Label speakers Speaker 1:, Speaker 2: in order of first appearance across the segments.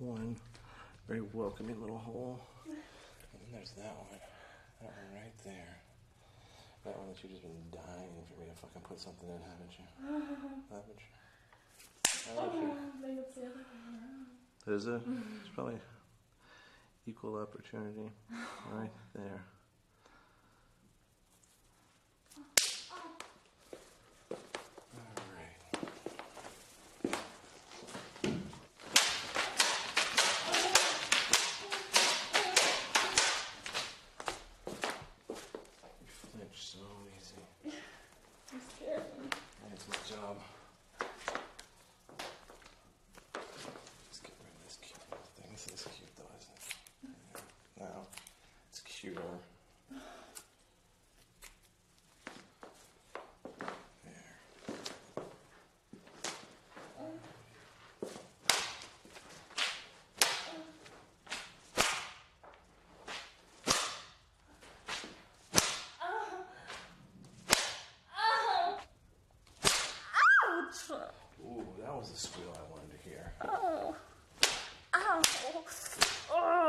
Speaker 1: one very welcoming little hole. And then there's that one. That one right there. That one that you've just been dying for me to fucking put something in, haven't you? Haven't you? Haven't you?
Speaker 2: Maybe it's the other way around.
Speaker 1: Is it? It's probably equal opportunity right there. Job. Just get rid of this cute little thing. This is cute though, isn't it? Yeah. Now it's cuter. There. Ooh, that was the squeal I wanted to hear.
Speaker 2: Oh. Ow. Oh.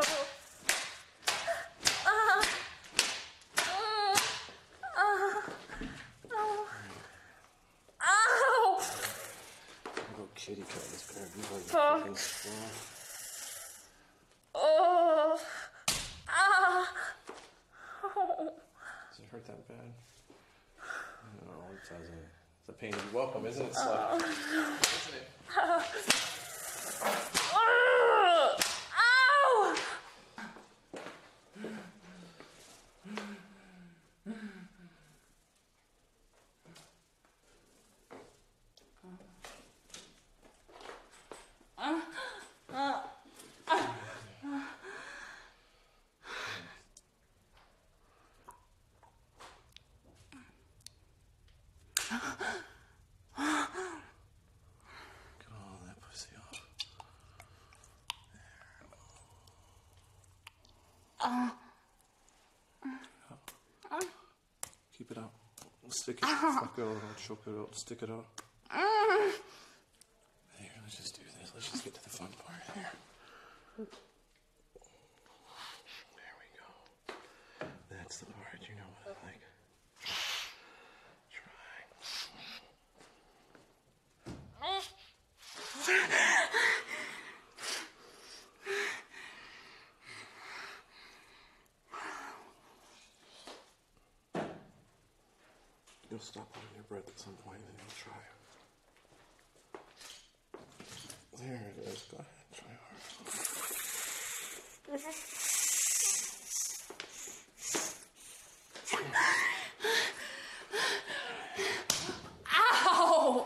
Speaker 1: Little kitty cat is gonna be like a fucking squirrel.
Speaker 2: Oh.
Speaker 1: Does it hurt that bad? No, it doesn't. It's a pain to be welcome, isn't it, Slut? Isn't it? Get all that pussy off. There. Keep it out. Stick it. Fuck it out. Choke it out. Stick it out. Here, let's just do this. Let's just get to the fun part here. There we go. That's the part you know what I like. You'll stop holding your breath at some point and then you'll try. There it is. Go ahead. Try hard.
Speaker 2: Ow!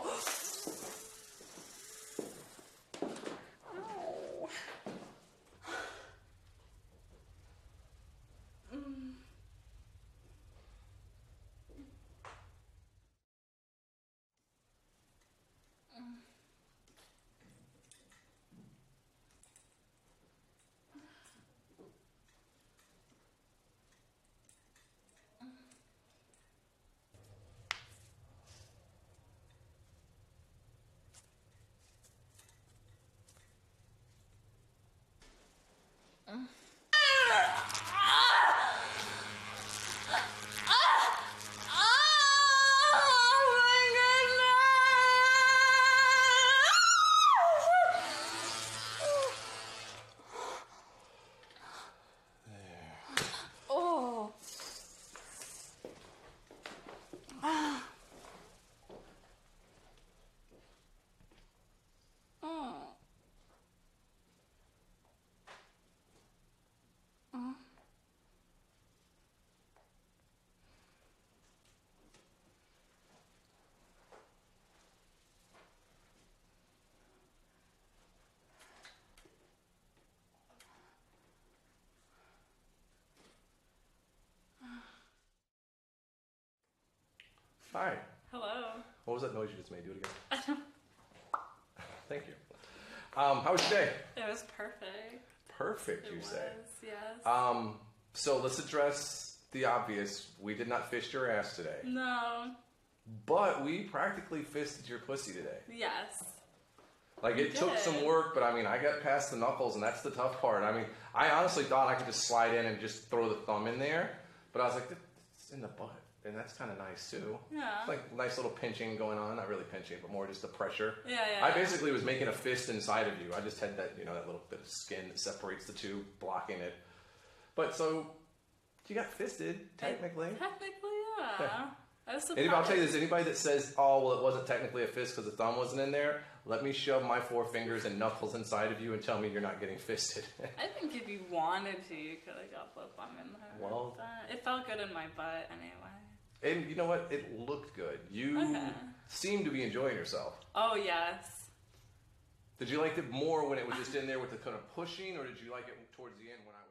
Speaker 1: Hi.
Speaker 2: Hello.
Speaker 1: What was that noise you just made? Do it again. Thank you. How was your day?
Speaker 2: It was perfect.
Speaker 1: Perfect, you
Speaker 2: It
Speaker 1: say.
Speaker 2: was, yes.
Speaker 1: So let's address the obvious. We did not fist your ass today.
Speaker 2: No.
Speaker 1: But we practically fisted your pussy today.
Speaker 2: Yes.
Speaker 1: Like, it took some work, but I mean, I got past the knuckles, and that's the tough part. I mean, I honestly thought I could just slide in and just throw the thumb in there, but I was like, it's in the butt, and that's kind of nice too.
Speaker 2: Yeah.
Speaker 1: Like, nice little pinching going on. Not really pinching, but more just the pressure.
Speaker 2: Yeah.
Speaker 1: I basically was making a fist inside of you. I just had that, you know, that little bit of skin that separates the two, blocking it. But so, you got fisted, technically.
Speaker 2: Technically, yeah. I was surprised.
Speaker 1: Anybody, I'll tell you this, anybody that says, oh, well, it wasn't technically a fist because the thumb wasn't in there, let me shove my 4 fingers and knuckles inside of you and tell me you're not getting fisted.
Speaker 2: I think if you wanted to, you could have got the thumb in there.
Speaker 1: Well,
Speaker 2: it felt good in my butt anyway.
Speaker 1: And you know what? It looked good. You seemed to be enjoying yourself.
Speaker 2: Oh, yes.
Speaker 1: Did you like it more when it was just in there with the kind of pushing, or did you like it towards the end when I